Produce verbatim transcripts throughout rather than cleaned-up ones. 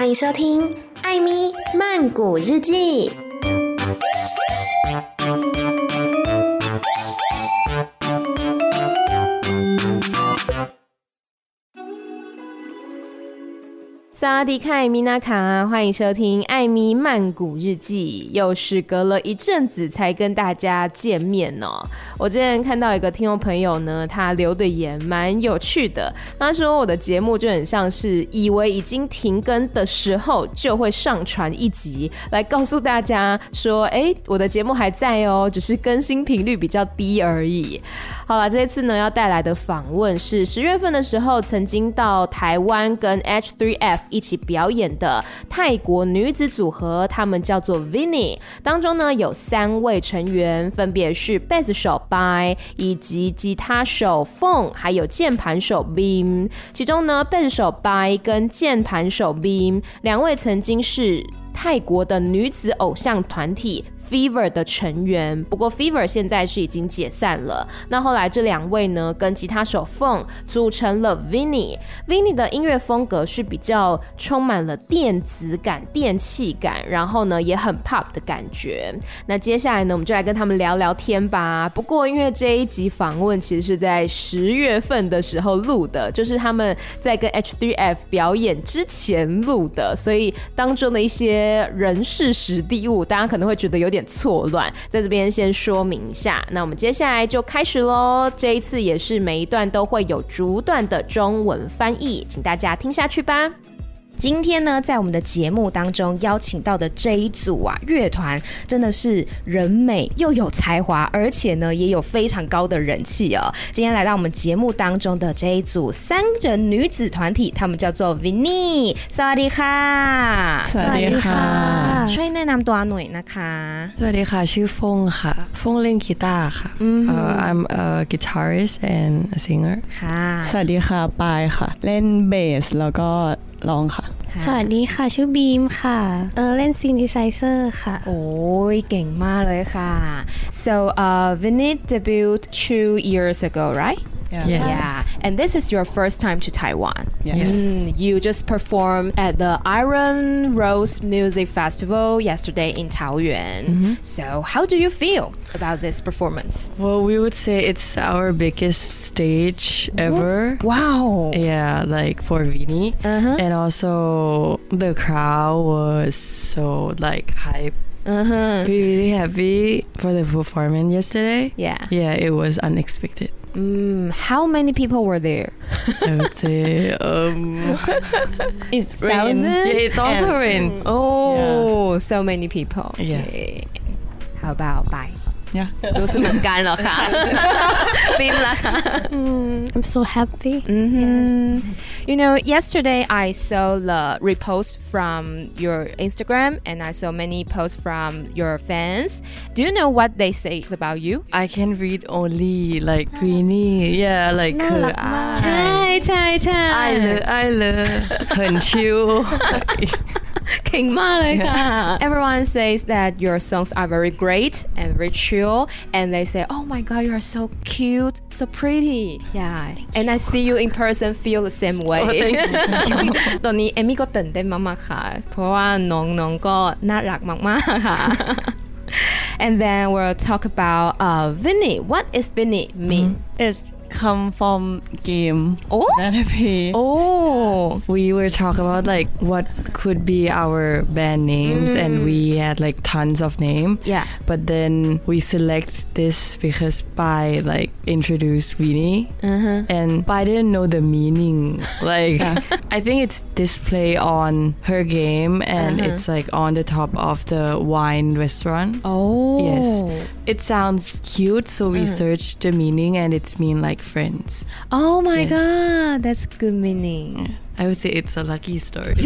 歡迎收聽艾咪曼谷日記。薩瓦迪卡，米娜卡，歡迎收聽艾咪曼谷日記。又是隔了一陣子才跟大家見面哦。我之前看到一個聽眾朋友呢，他留的言蠻有趣的。他說我的節目就很像是以為已經停更的時候，就會上傳一集來告訴大家說，哎，我的節目還在哦，只是更新頻率比較低而已。好啦，這一次呢要帶來的訪問是十月份的時候曾經到台灣跟 H 三 F 一起表演的泰國女子組合，他們叫做 Vinny， 當中呢有三位成員，分別是貝斯手 Bai 以及吉他手 Phong 還有鍵盤手 Beam。其中呢貝斯手 Bai 跟鍵盤手 Beam 兩位曾經是泰國的女子偶像團體Fever 的成員，不過 Fever 現在是已經解散了。那後來這兩位呢，跟吉他手 Phong 組成了 Vinny。Vinny 的音樂風格是比較充滿了電子感、電氣感，然後呢也很 pop 的感覺。那接下來呢，我們就來跟他們聊聊天吧。不過因為這一集訪問其實是在十月份的時候錄的，就是他們在跟 H 三 F 表演之前錄的，所以當中的一些人事時地物，大家可能會覺得有點有點錯亂，在這邊先說明一下。那我們接下來就開始咯，這一次也是每一段都會有逐段的中文翻譯，請大家聽下去吧。今天呢，在我們的節目當中邀請到的這一組啊樂團，真的是人美又有才華，而且呢也有非常高的人氣哦。今天來到我們節目當中的這一組三人女子團體，他們叫做 Vinny。สวัสดีค่ะสวัสดีค่ะช่วยแนะนำตัวหน่อยนะคะสวัสดีค่ะชื่อฟงค่ะฟงเล่นกีตาร์ค่ะ mm-hmm. uh, I'm a guitarist and a singer ค่ะสวัสดีค่ะปายค่ะเล่นเบสแล้วก็ร้องค่ะสวัสดีค่ะชื่อบีมค่ะเออเล่นซินธิไซเซอร์ค่ะโอ้ยเก่งมากเลยค่ะ so uh Vinny debuted two years ago right yeah. Yes. yeah and this is your first time to Taiwan yes mm, you just performed at the Iron Rose Music Festival yesterday in Taoyuan mm-hmm. so how do you feel about this performance well we would say it's our biggest stage ever wow yeah like for Vinny uh-huh. and also the crowd was so like hype uh-huh. we really happy for the performance yesterday yeah yeah it was unexpected mm, how many people were there I would say um it's rain yeah it's also and, rain oh yeah. so many people yes okay. how about bye yeah 都是很干了ค่ะ冰了ค่ะ mm, I'm so happy mm-hmm. yes. You know yesterday I saw the repost from your Instagram and I saw many posts from your fans. Do you know what they say about you? I can read only like Vinny yeah like น่ารักมากใช่ใช่ใช่ I love I love 很 chill เก่งมากเลยค่ะ Everyone says that your songs are very great and very chill and they say oh my god you are so cute so pretty yeah and I see you in person feel the same way oh, thank you. ตอนนี้เอมมี่ก็ตื่นเต้นมากๆค่ะเพราะว่าน้องๆก็น่ารักมากๆค่ะ and then we'll talk about uh, Vinny. What is Vinny mean? Mm-hmm. It's come from game oh that I play. Oh we were talking about like what could be our band names mm. and we had like tons of names yeah but then we select this because Bai like introduced Vinny uh-huh. and Bai didn't know the meaning like yeah. I think it's display on her game and uh-huh. it's like on the top of the wine restaurant oh yes it sounds cute so we uh-huh. searched the meaning and it's mean like friends oh my yes. god that's good meaning I would say it's a lucky story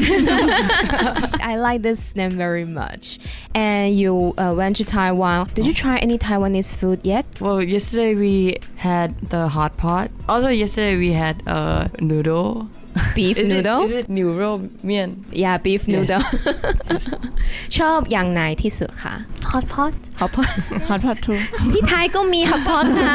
I like this name very much and you uh, went to Taiwan did you try any Taiwanese food yet well yesterday we had the hot pot also yesterday we had a noodle beef is noodle it, is it 牛肉面 yeah beef noodle yes. ชอบอย่างไหนที่สุดคะ hot pot hot pot hot pot too ที่ไทยก็มี hot pot ค่ะ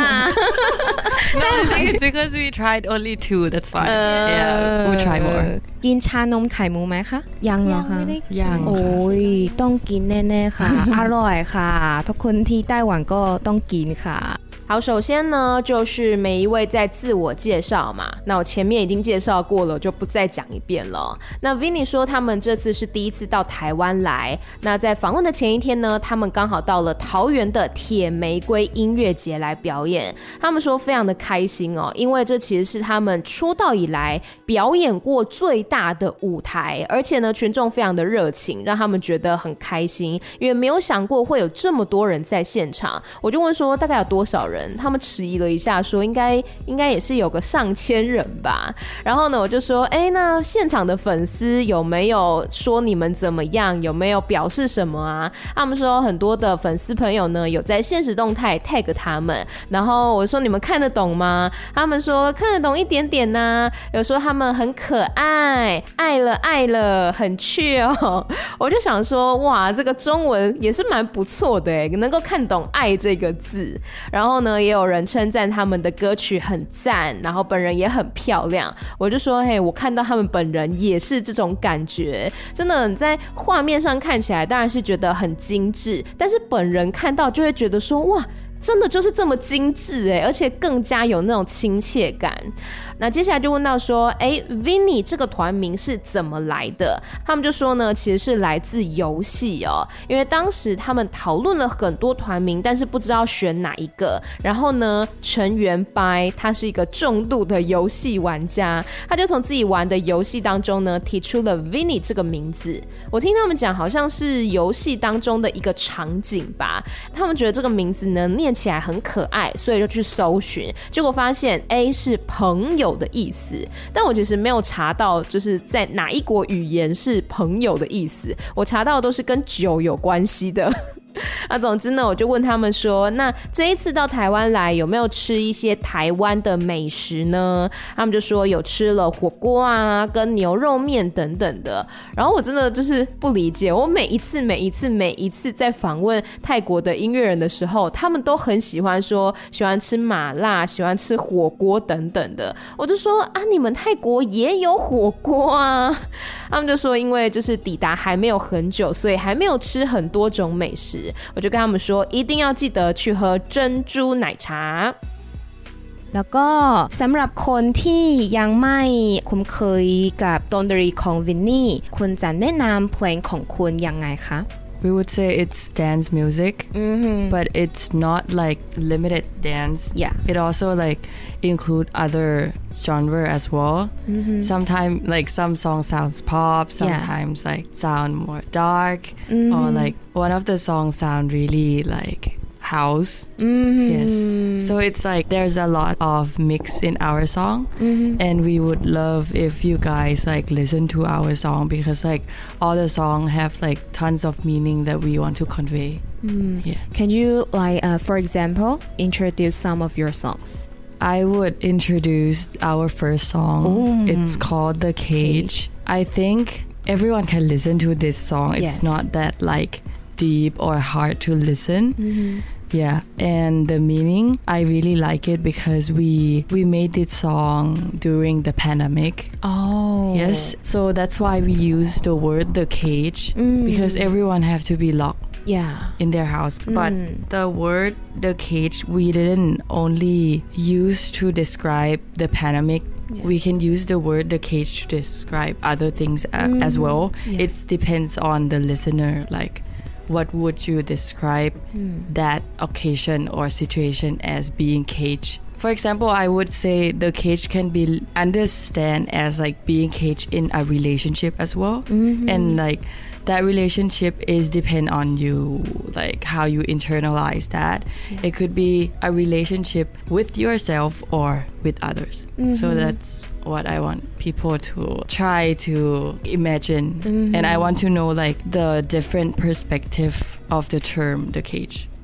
no I think it's because we tried only two that's fine yeah we'll try more กินชานมไข่มุกไหมคะยังเหรอคะยังโอ้ยต้องกินแน่ๆค่ะ อร่อยค่ะทุกคนที่ไต้หวันก็ต้องกินค่ะ好，首先呢，就是每一位在自我介紹嘛。那我前面已經介紹過了，就不再講一遍了。那 Vinny 說他們這次是第一次到台灣來。那在訪問的前一天呢，他們剛好到了桃園的鐵玫瑰音樂節來表演。他們說非常的開心哦，因為這其實是他們出道以來表演過最大的舞台，而且呢，群眾非常的熱情，讓他們覺得很開心，因為沒有想過會有這麼多人在現場。我就問說，大概有多少人？他們遲疑了一下說應該應該也是有個上千人吧。然後呢我就說哎，那現場的粉絲有沒有說你們怎麼樣，有沒有表示什麼啊？他們說很多的粉絲朋友呢有在限時動態 tag 他們，然後我說你們看得懂嗎？他們說看得懂一點點啊，有說他們很可愛，愛了愛了，很趣哦。我就想說哇，這個中文也是蠻不錯的耶，能夠看懂愛這個字。然後呢也有人稱讚他們的歌曲很讚，然後本人也很漂亮。我就說嘿，我看到他們本人也是這種感覺，真的你在畫面上看起來當然是覺得很精緻，但是本人看到就會覺得說哇，真的就是這麼精緻耶，而且更加有那種親切感。那接下來就問到說哎 Vinny 這個團名是怎麼來的？他們就說呢其實是來自遊戲哦，因為當時他們討論了很多團名，但是不知道選哪一個。然後呢成員白他是一個重度的遊戲玩家，他就從自己玩的遊戲當中呢提出了 Vinny 這個名字。我聽他們講好像是遊戲當中的一個場景吧，他們覺得這個名字呢念起來很可愛，所以就去搜尋，結果發現 A 是朋友的意思，但我其實沒有查到就是在哪一國語言是朋友的意思，我查到的都是跟酒有關係的。那總之呢我就問他們說那這一次到台灣來有沒有吃一些台灣的美食呢？他們就說有吃了火鍋啊跟牛肉麵等等的。然後我真的就是不理解，我每一次每一次每一次在訪問泰國的音樂人的時候，他們都很喜歡說喜歡吃麻辣，喜歡吃火鍋等等的。我就說啊，你們泰國也有火鍋啊？他們就說因為就是抵達還沒有很久，所以還沒有吃很多種美食。我就跟他們說一定要記得去喝珍珠奶茶。แล้วก็สำหรับคนที่ยังไม่คุ้นเคยกับดนตรีของ Vinny คุณจะแนะนำเพลงของคุณยังไงคะ We would say it's dance music, mm-hmm. but it's not like limited dance. Yeah. It also like include other genre as well. Mm-hmm. Sometimes like some songs sounds pop, sometimes yeah. like sound more dark, mm-hmm. or like one of the songs sound really like house. Mm-hmm. Yes. So it's like there's a lot of mix in our song, mm-hmm. and we would love if you guys like listen to our song because like all the song have like tons of meaning that we want to convey. Mm. Yeah. Can you like uh, for example introduce some of your songs? I would introduce our first song. Ooh. It's called The Cage. I think everyone can listen to this song. It's yes. not that like deep or hard to listen. Mm-hmm. Yeah, and the meaning, I really like it because we we made this song during the pandemic. Oh. Yes, so that's why we use the word the cage, mm. because everyone have to be locked yeah. in their house. Mm. But the word the cage, we didn't only use to describe the pandemic. Yeah. We can use the word the cage to describe other things mm. as well. Yeah. It depends on the listener, like what would you describe mm. that occasion or situation as being caged? For example, I would say the cage can be understand as like being caged in a relationship as well. Mm-hmm. And like that relationship is depend on you, like how you internalize that. Yeah. It could be a relationship with yourself or with others. Mm-hmm. So that's what I want people to try to imagine. Mm-hmm. And I want to know like the different perspective of the term the cage.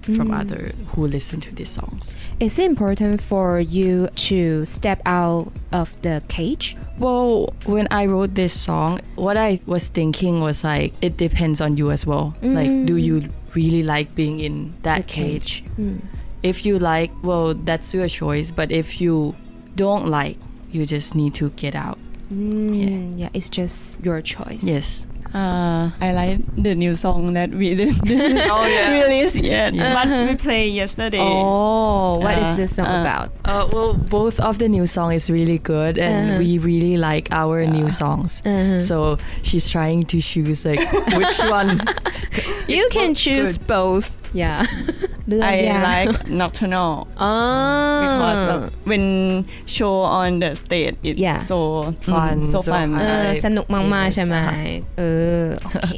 from mm. other who listen to these songs. Is it important for you to step out of the cage? Well, when I wrote this song, what I was thinking was like, it depends on you as well. Mm. Like, do you really like being in that the cage? cage? Mm. If you like, well, that's your choice. But if you don't like, you just need to get out. Mm, yeah. yeah, it's just your choice. Yes. Uh, I like the new song that we didn't oh, yeah. release yet, yeah. but we played yesterday. Oh, what uh, is this song uh, about? Uh, well, both of the new song is really good, and uh-huh. we really like our yeah. new songs. Uh-huh. So she's trying to choose like which one. You can choose good. both. Yeah. I yeah. like Nocturnal. Oh. Because like, when show on the stage it's yeah. so fun, so, so fun. สนุกมากๆใช่ไหมเออโอเค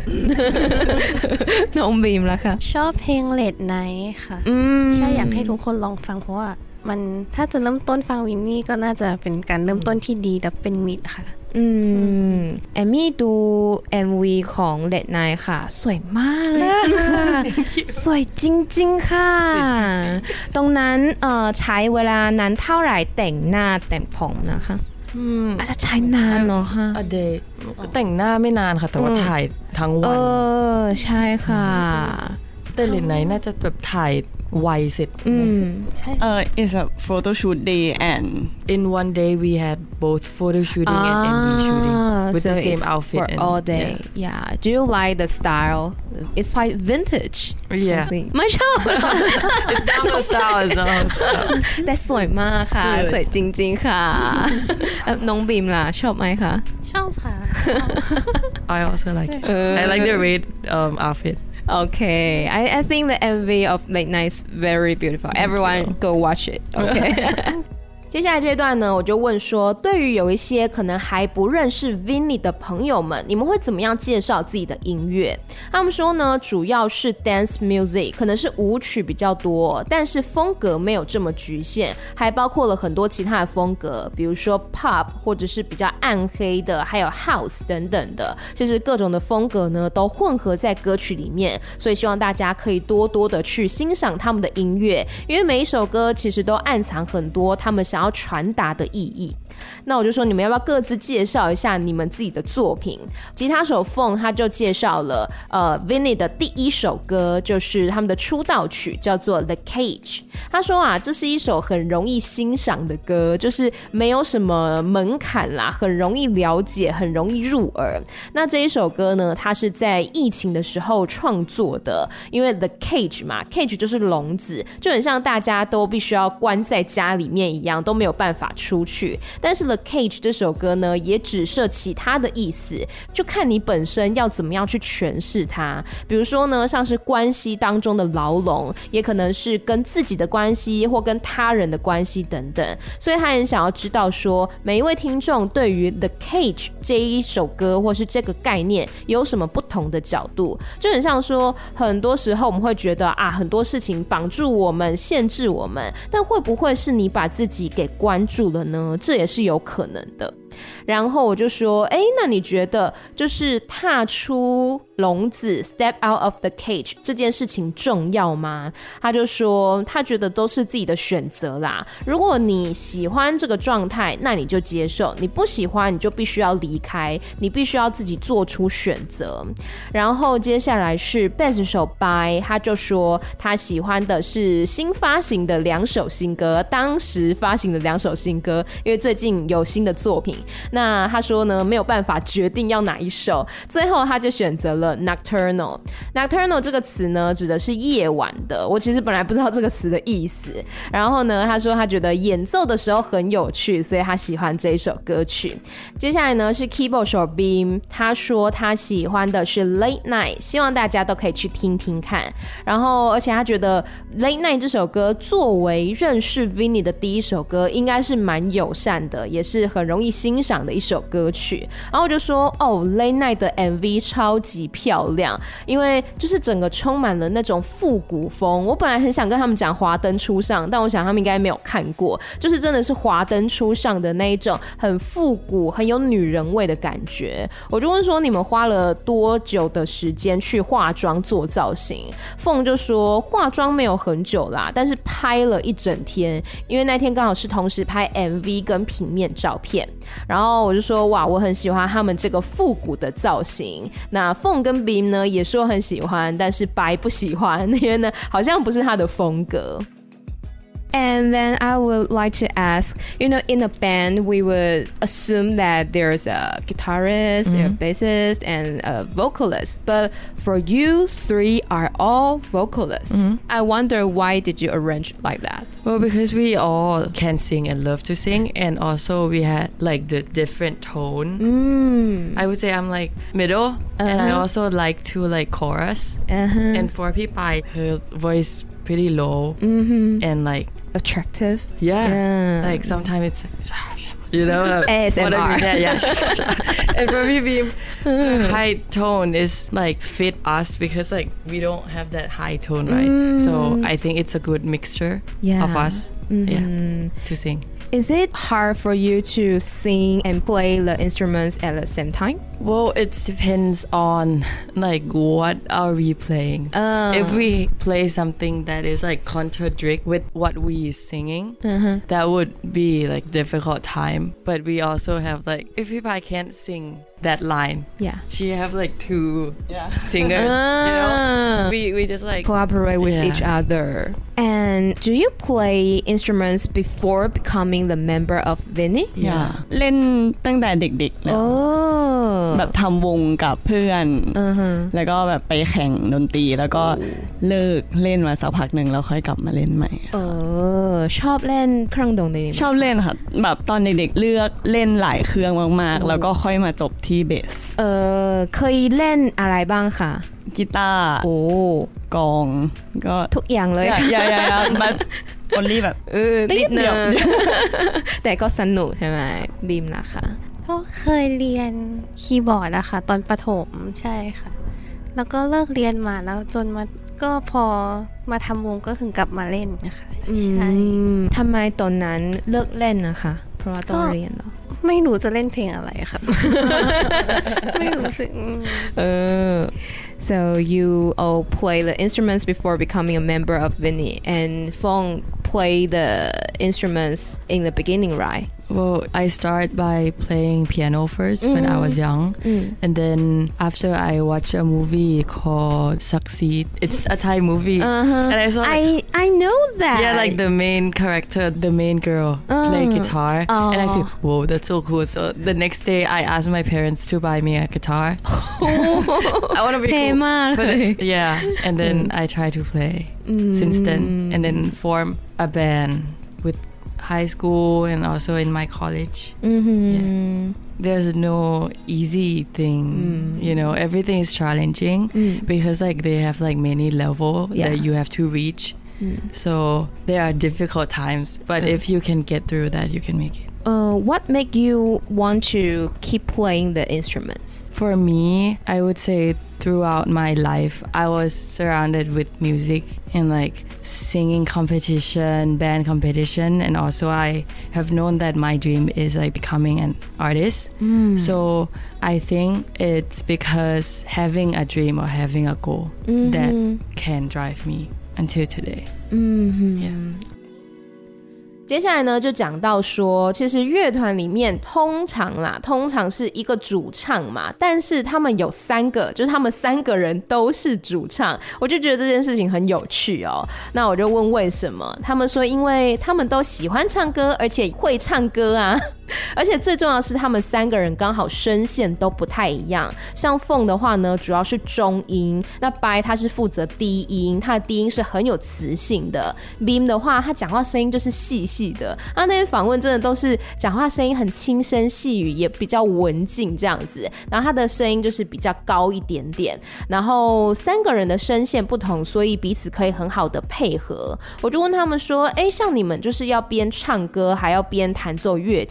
น้องบีมล่ะค่ะชอบเพลง Late Night ค่ะใช่อยากให้ทุกคนลองฟังเพราะว่ามันถ้าจะเริ่มต้นฟังวินนี่ก็น่าจะเป็นการเริ่มต้นที่ดีและเป็นมิตรค่ะอืมแอมมี่ดู เอ็ม วี ของ Late Night ค่ะสวยมากเลยค่ะสวยจริงๆค่ะตรงนั้นเอ่อใช้เวลานานเท่าไหร่แต่งหน้าแต่งผมนะคะอาจจะใช้นานเนาะค่ะเดย์แต่งหน้าไม่นานค่ะแต่ว่าถ่ายทั้งวันเออใช่ค่ะแต่Late Nightน่าจะแบบถ่ายไวเสร็จใช่เอ่อ it's a photo shoot day and in one day we had both photo shooting and เอ็ม วี shooting with so the same outfit for and, all day yeah. yeah do you like the style it's like vintage yeah ไม่ชอบ it's not the style it's not the style แต่สวยมากค่ะสวยจริงๆค่ะน้องบีมล่ะชอบไหมคะชอบค่ะ I also like it I like the red um, outfit Okay, I, I think the M V of Late Night is very beautiful. Everyone go watch it. Okay. 接下來這段呢，我就問說，對於有一些可能還不認識 Vinny 的朋友們，你們會怎麼樣介紹自己的音樂？他們說呢，主要是 dance music， 可能是舞曲比較多，但是風格沒有這麼局限，還包括了很多其他的風格，比如說 pop 或者是比較暗黑的，還有 house 等等的，就是各種的風格呢都混合在歌曲裡面，所以希望大家可以多多的去欣賞他們的音樂，因為每一首歌其實都暗藏很多他們想要傳達的意義。那我就說，你們要不要各自介紹一下你們自己的作品？吉他手 Phong 他就介紹了呃 Vinny 的第一首歌，就是他們的出道曲，叫做 The Cage。他說啊，這是一首很容易欣賞的歌，就是沒有什麼門檻啦，很容易了解，很容易入耳。那這一首歌呢，它是在疫情的時候創作的，因為 The Cage 嘛 ，Cage 就是籠子，就很像大家都必須要關在家裡面一樣，都沒有辦法出去。但是 The Cage 這首歌呢，也指涉其他的意思，就看你本身要怎麼樣去詮釋它。比如說呢，像是關係當中的牢籠，也可能是跟自己的關係或跟他人的關係等等。所以他很想要知道說，每一位聽眾對於 The Cage 這一首歌或是這個概念有什麼不同的角度。就很像說，很多時候我們會覺得啊，很多事情綁住我們，限制我們，但會不會是你把自己給關住了呢？這也是有可能的。然後我就說，哎，那你覺得就是踏出籠子 step out of the cage 這件事情重要嗎？他就說他覺得都是自己的選擇啦，如果你喜歡這個狀態，那你就接受，你不喜歡你就必須要離開，你必須要自己做出選擇。然後接下來是貝斯手 Bai， 他就說他喜歡的是新發行的兩首新歌，當時發行的兩首新歌，因為最近有新的作品，那他說呢，沒有辦法決定要哪一首，最後他就選擇了 Nocturnal。 Nocturnal 這個詞呢，指的是夜晚的，我其實本來不知道這個詞的意思，然後呢，他說他覺得演奏的時候很有趣，所以他喜歡這一首歌曲。接下來呢是 Keyboard 手 Beam， 他說他喜歡的是 Late Night， 希望大家都可以去聽聽看。然後而且他覺得 Late Night 這首歌作為認識 Vinny 的第一首歌，應該是蠻友善的，也是很容易欣欣賞的一首歌曲。然後我就說哦 Late Night 的 M V 超級漂亮，因為就是整個充滿了那種復古風。我本來很想跟他們講華燈初上，但我想他們應該沒有看過，就是真的是華燈初上的那一種很復古很有女人味的感覺。我就問說你們花了多久的時間去化妝做造型？鳳就說化妝沒有很久啦，但是拍了一整天，因為那天剛好是同時拍 M V 跟平面照片。然後我就說哇，我很喜歡他們這個復古的造型。那鳳跟 Beam 呢也說很喜歡，但是白不喜歡，因為呢好像不是他的風格。 And then I would like to ask, you know, in a band, we would assume that there's a guitarist, mm-hmm. there's a bassist, and a vocalist. But for you, three are all vocalists. Mm-hmm. I wonder, why did you arrange like that? Well, because we all can sing and love to sing, and also we had like the different tone. Mm. I would say I'm like middle, uh-huh. and I also like to like chorus. Uh-huh. And for Pipai, her voice pretty low, mm-hmm. and like attractive. Yeah. yeah. Like sometimes it's, you know, A S M R. I mean? Yeah, yeah. And for me, Beam, high tone is like fit us because like we don't have that high tone, right? Mm. So I think it's a good mixture yeah. of us, mm-hmm. yeah, to sing. Is it hard for you to sing and play the instruments at the same time? Well, it depends on like what are we playing. Uh. If we play something that is like contradict with what we singing, uh-huh. that would be like difficult time. But we also have like, if I can't sing that line, yeah, she have like two yeah. singers, uh. you know, we, we just like collaborate with yeah. each other. And do you play instruments before becoming the member of Vinny? Yeah, เล่นตั้งแต่เด็กๆแล้วแบบทำวงกับเพื่อนแล้วก็แบบไปแข่งดนตรีแล้วก็เลิกเล่นมาสักพักนึงแล้วค่อยกลับมาเล่นใหม่เออชอบเล่นเครื่องดนตรีชอบเล่นค่ะแบบตอนเด็กๆเลือกเล่นหลายเครื่องมากๆแล้วก็ค่อยมาจบที่เบสเออเคยเล่นอะไรบ้างคะกีตาร์โอ้กลองก็ทุกอย่างเลยอย่าๆๆบัดออนลี่แบบเออนิดนึงแต่ก็สนุกใช่ไหมบีมนะคะก็เคยเรียนคีย์บอร์ดอะค่ะตอนประถมใช่ค่ะแล้วก็เลิกเรียนมาแล้วจนมาก็พอมาทำวงก็ถึงกลับมาเล่นนะคะใช่ทำไมตอนนั้นเลิกเล่นนะคะเพราะว่าต้องเรียนเหรอไม่รู้จะเล่นเพลงอะไรค่ะไม่รู้สึกเออ so you all play the instruments before becoming a member of Vinny and Phong play the instruments in the beginning, right? Well, I start by playing piano first mm. when I was young. Mm. And then after I watched a movie called Succeed. It's a Thai movie. Uh-huh. And I saw like, I, I know that. Yeah, like the main character, the main girl uh. play guitar. Oh. And I feel, whoa, that's so cool. So the next day I asked my parents to buy me a guitar. I want to be cool. But then, yeah. And then mm. I try to play mm. since then. And then form a band with high school and also in my college. Mm-hmm. Yeah. There's no easy thing, mm. you know, everything is challenging mm. because like they have like many levels yeah. that you have to reach. Mm. So there are difficult times, but mm. if you can get through that, you can make it. Uh, what make you want to keep playing the instruments? For me, I would say throughout my life, I was surrounded with music and like singing competition, band competition, and also I have known that my dream is like becoming an artist. Mm. So I think it's because having a dream or having a goal mm-hmm. that can drive me until today. Mm-hmm. Yeah. 接下來呢，就講到說，其實樂團裡面通常啦，通常是一個主唱嘛，但是他們有三個，就是他們三個人都是主唱，我就覺得這件事情很有趣哦。那我就問為什麼？他們說，因為他們都喜歡唱歌，而且會唱歌啊。而且最重要的是，他們三個人剛好聲線都不太一樣。像鳳的話呢，主要是中音；那白他是負責低音，他的低音是很有磁性的。Beam 的話，他講話聲音就是細細的。啊，那些訪問真的都是講話聲音很輕聲細語，也比較文靜這樣子。然後他的聲音就是比較高一點點。然後三個人的聲線不同，所以彼此可以很好的配合。我就問他們說：“哎，像你們就是要邊唱歌還要邊彈奏樂器。”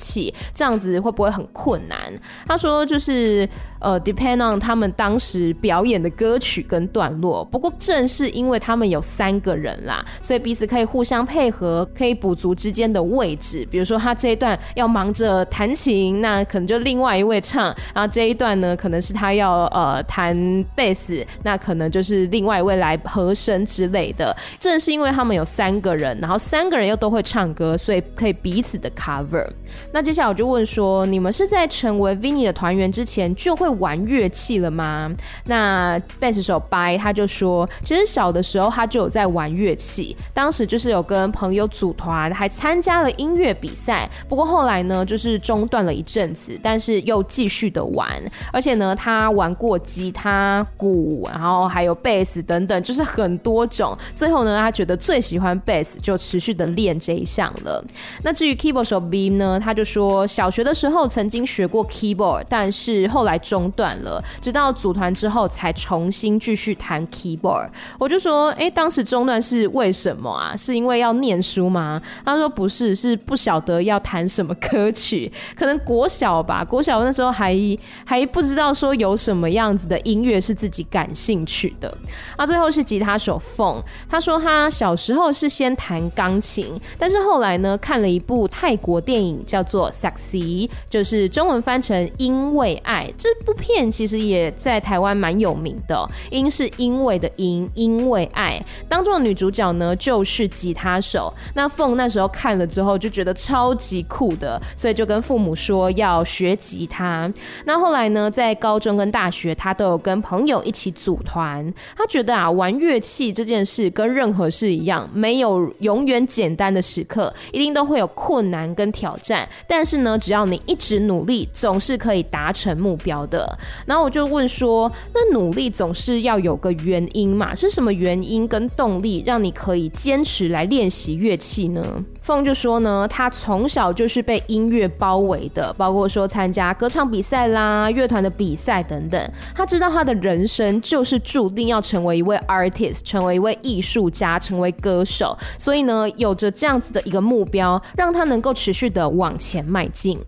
這樣子會不會很困難？他說就是呃 depend on 他們當時表演的歌曲跟段落，不過正是因為他們有三個人啦，所以彼此可以互相配合，可以補足之間的位置。比如說他這一段要忙着彈琴，那可能就另外一位唱，然後這一段呢可能是他要呃彈貝斯，那可能就是另外一位來和聲之類的。正是因為他們有三個人，然後三個人又都會唱歌，所以可以彼此的 cover。那接下來我就問說，你們是在成為 V I N I 的團員之前就會玩樂器了嗎？那貝斯手白他就說，其實小的時候他就有在玩樂器，當時就是有跟朋友組團，還參加了音樂比賽。不過後來呢，就是中斷了一陣子，但是又繼續的玩。而且呢，他玩過吉他、鼓，然後還有貝斯等等，就是很多種。最後呢，他覺得最喜歡貝斯，就持續的練這一項了。那至於 keyboard 手 Beam 呢，他就說小學的時候曾經學過 keyboard， 但是後來中斷了，直到組團之後才重新繼續彈 keyboard。我就說，哎，當時中斷是為什麼啊？是因為要念書嗎？他說不是，是不曉得要彈什麼歌曲，可能國小吧，國小那時候還還不知道說有什麼樣子的音樂是自己感興趣的。那最後是吉他手鳳，他說他小時候是先彈鋼琴，但是後來呢看了一部泰國電影叫做 Saksi， 就是中文翻成因為愛。這部片其實也在台灣蠻有名的，因是因為的因，因為愛當中的女主角呢就是吉他手。那鳳那時候看了之後就覺得超級酷的，所以就跟父母說要學吉他。那後來呢在高中跟大學他都有跟朋友一起組團，他覺得啊玩樂器這件事跟任何事一樣，沒有永遠簡單的時刻，一定都會有困難跟挑戰，但是呢只要你一直努力，總是可以達成目標的。然後我就問說，那努力總是要有個原因嘛，是什麼原因跟動力讓你可以堅持來練習樂器呢？鳳就說呢，他從小就是被音樂包圍的，包括說參加歌唱比賽啦、樂團的比賽等等。他知道他的人生就是注定要成為一位 artist， 成為一位藝術家，成為歌手，所以呢有着這樣子的一個目標，讓他能夠持續的往前邁進。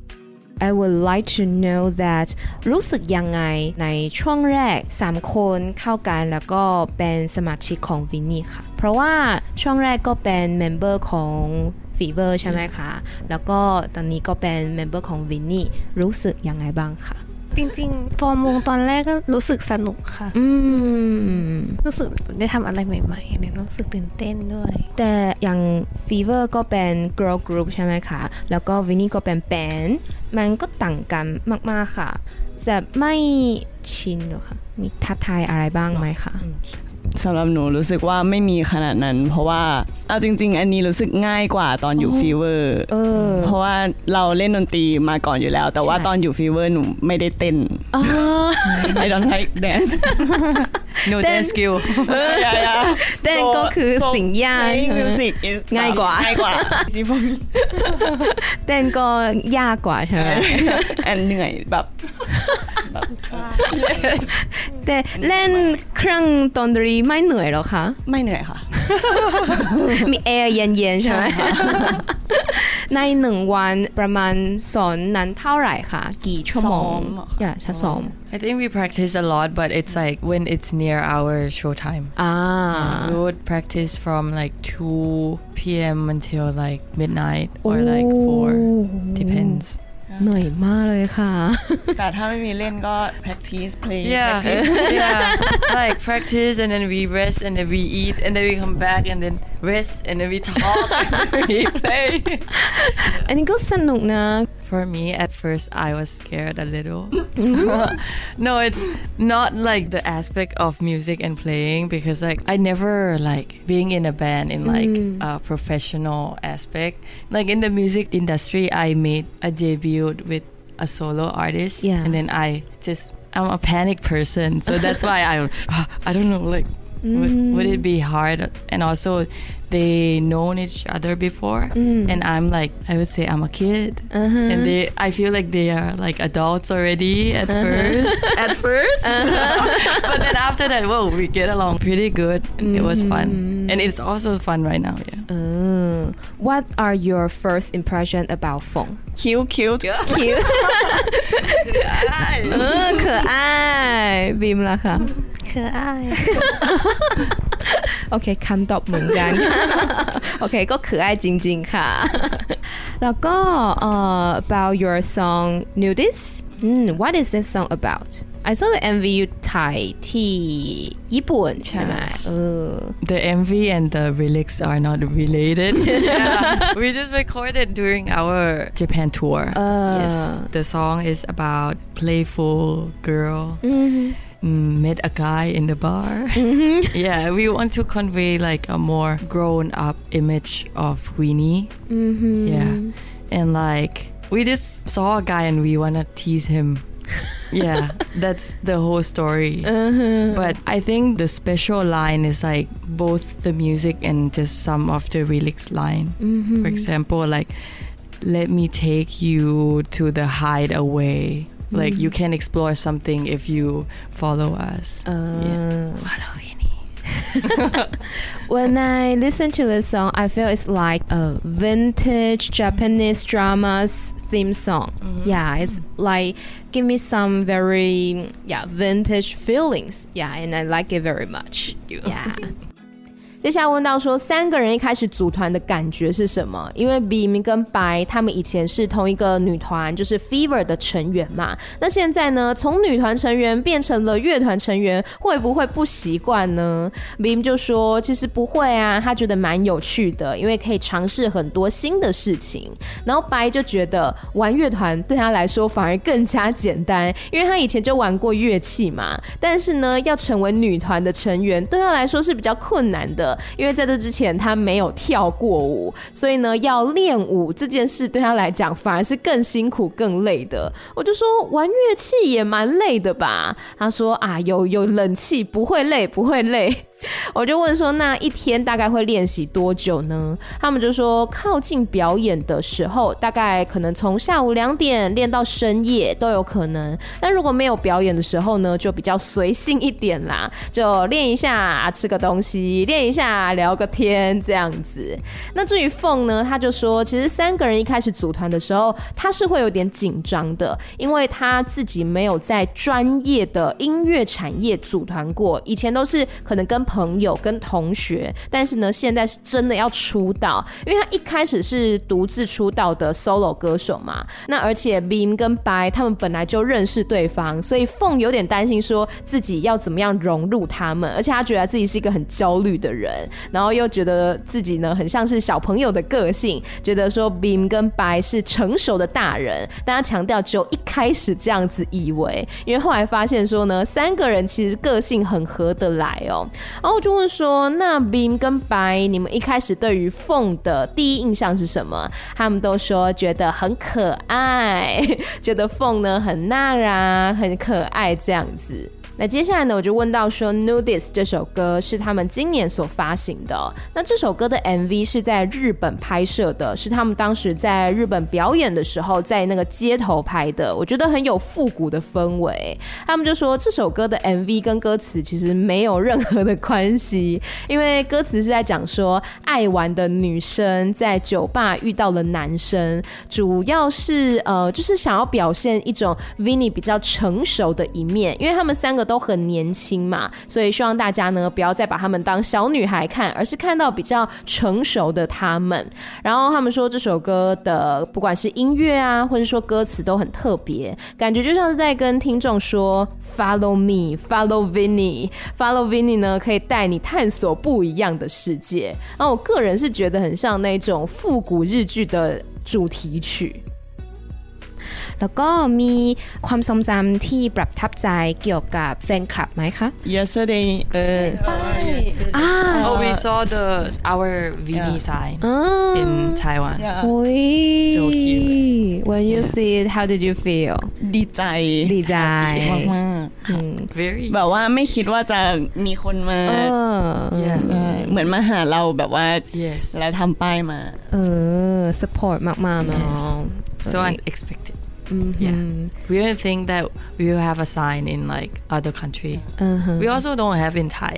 I would like to know that รู้สึกยังไงในช่วงแรกสามคนเข้ากันแล้วก็เป็นสมาชิกของ V I N I ค่ะเพราะว่าช่วงแรกก็เป็นเมมเบอร์ของ Fever ใช่ไหมคะแล้วก็ตอนนี้ก็เป็นเมมเบอร์ของ V I N I รู้สึกยังไงบ้างคะจริงๆฟอร์มวงตอนแรกก็รู้สึกสนุกค่ะอืมรู้สึกได้ทำอะไรใหม่ๆเนี่ยรู้สึกตื่นเต้นด้วยแต่อย่าง Fever ก็เป็น girl group ใช่ไหมคะแล้วก็ V I N I ก็เป็นแบนด์มันก็ต่างกันมากๆค่ะจะไม่ชินหรอคะมีท้าทายอะไรบ้างไหมคะสำหรับหนูรู้สึกว่าไม่มีขนาดนั้นเพราะว่าเอาจริงๆอันนี้รู้สึกง่ายกว่าตอนอยู่ฟีเวอร์เพราะว่าเราเล่นดนตรีมาก่อนอยู่แล้วแต่ว่าตอนอยู่ฟีเวอร์หนูไม่ได้เต้น I don't like dance no dance skill เต้นก็คือสิ่งยากง่ายกว่าง่ายกว่าเต้นก็ยากกว่าใช่ไหมแอนเหนื่อยแบบแต่เล่นเครื่องดนตรีไม่เหนื่อยหรอคะไม่เหนื่อยค่ะมีแอร์เย็นๆใช่ไหมในหนึ่งวันประมาณสอนนั้นเท่าไหร่คะกี่ชั่วโมงอย่าช้าซ้อม I think we practice a lot but it's like when it's near our show time ah we would practice from like two p.m. until like midnight or like four depends เหนื่อยมากเลยค่ะแต่ถ้าไม่มีเล่นก็ practice play yeah practice. yeah like practice and then we rest and then we eat and then we come back and then rest and then we talk and then we play อันนี้ก็สนุกนะ For me at first I was scared a little no it's not like the aspect of music and playing because like I never like being in a band in like mm. a professional aspect like in the music industry I made a debut with a solo artist yeah. and then I just I'm a panic person so that's why I I don't know like Mm. Would, would it be hard? And also, they known each other before, mm. and I'm like, I would say I'm a kid, uh-huh. and they, I feel like they are like adults already at uh-huh. first. At first, uh-huh. But then after that, whoa, we get along pretty good. Mm-hmm. It was fun, and it's also fun right now. Yeah. Uh, what are your first impression about Fong? Cute, cute, cute. 可愛，嗯，可愛。Beam ล่ะคะ可愛โอเคคำตอบเหมือนกันโอเคก็可愛จริงๆค่ะแล้วก็ uh, about your song Nudist mm, what is this song about I saw the เอ็ม วี you ถ่ายที่ญี่ปุ่นใช่ไหมเออ The เอ็ม วี and the lyrics are not related. Yeah. We just recorded during our Japan tour. Uh, yes. The song is about playful girl mm-hmm. met a guy in the bar. Mm-hmm. Yeah, we want to convey like a more grown up image of Winnie. Mm-hmm. Yeah. And like we just saw a guy and we want to tease him.Yeah, that's the whole story. Uh-huh. But I think the special line is like both the music and just some of the lyrics line. Mm-hmm. For example, like, let me take you to the hideaway. Mm-hmm. Like, you can explore something if you follow us. Uh, yeah. Follow Winnie. When I listen to this song, I feel it's like a vintage Japanese drama's theme song. Mm-hmm. Yeah, it's like give me some very yeah vintage feelings. Yeah, and I like it very much. Yeah. 接下來問到說三個人一開始組團的感覺是什麼？因為 Beam 跟白他們以前是同一個女團，就是 Fever 的成員嘛。那現在呢，從女團成員變成了樂團成員，會不會不習慣呢？ Beam 就說其實不會啊，他覺得蠻有趣的，因為可以嘗試很多新的事情。然後白就覺得玩樂團對他來說反而更加簡單，因為他以前就玩過樂器嘛。但是呢，要成為女團的成員對他來說是比較困難的。因為在這之前他沒有跳過舞，所以呢要練舞這件事對他來講反而是更辛苦更累的。我就說玩樂器也蠻累的吧，他說啊有有冷氣不會累不會累。我就問說那一天大概會練習多久呢？他們就說靠近表演的時候大概可能從下午兩點練到深夜都有可能，但如果沒有表演的時候呢就比較隨性一點啦，就練一下吃個東西，練一下聊個天這樣子。那至於鳳呢，他就說其實三個人一開始組團的時候他是會有點緊張的，因為他自己沒有在專業的音樂產業組團過，以前都是可能跟朋友跟同學，但是呢現在是真的要出道，因為他一開始是獨自出道的 solo 歌手嘛，那而且 Beam 跟白他們本來就認識對方，所以鳳有點擔心說自己要怎麼樣融入他們，而且他覺得自己是一個很焦慮的人，然後又覺得自己呢很像是小朋友的個性，覺得說 Beam 跟白是成熟的大人，但他強調只有一開始這樣子以為，因為後來發現說呢三個人其實個性很合得來哦。然後我就問說那 Beam 跟白你們一開始對於鳳的第一印象是什麼？他們都說覺得很可愛，覺得鳳呢很娜拉很可愛這樣子。那接下來呢我就問到說 Nudist 這首歌是他們今年所發行的哦，那這首歌的 M V 是在日本拍攝的，是他們當時在日本表演的時候在那個街頭拍的，我覺得很有復古的氛圍。他們就說這首歌的 M V 跟歌詞其實沒有任何的關係，因為歌詞是在講說愛玩的女生在酒吧遇到了男生，主要是呃就是想要表現一種 Winnie 比較成熟的一面，因為他們三個都很年輕嘛，所以希望大家呢不要再把他們當小女孩看，而是看到比較成熟的他們。然後他們說這首歌的不管是音樂啊或者說歌詞都很特別，感覺就像是在跟聽眾說 Follow me Follow Winnie Follow Winnie 呢可以帶你探索不一樣的世界。然後我個人是覺得很像那種復古日劇的主題曲。 แล้วก็มีความทรงจำที่ประทับใจเกี่ยวกับแฟนคลับไหมคะ yesterday เอออ่า oh we saw the our Vini yeah. sign uh, in Taiwan yeah. โอ้ย so cute when you yeah. see it how did you feel ดีใจดีใจมากๆ very แบบว่าไม่คิดว่าจะมีคนมา yeah. เหมือนมาหาเราแบบว่า yes. แล้วทำป้ายมาเออ support มากๆเนาะ yes. so unexpected mm-hmm. yeah we didn't think that we will have a sign in like other country uh-huh. we also don't have in Thai